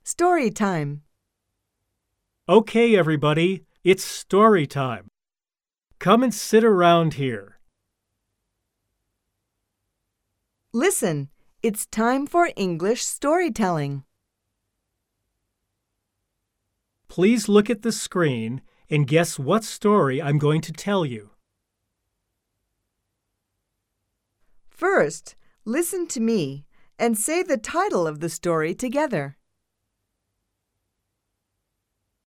Story time. Okay, everybody, it's story time. Come and sit around here. Listen, it's time for English storytelling. Please look at the screen and guess what story I'm going to tell you. First, listen to me and say the title of the story together.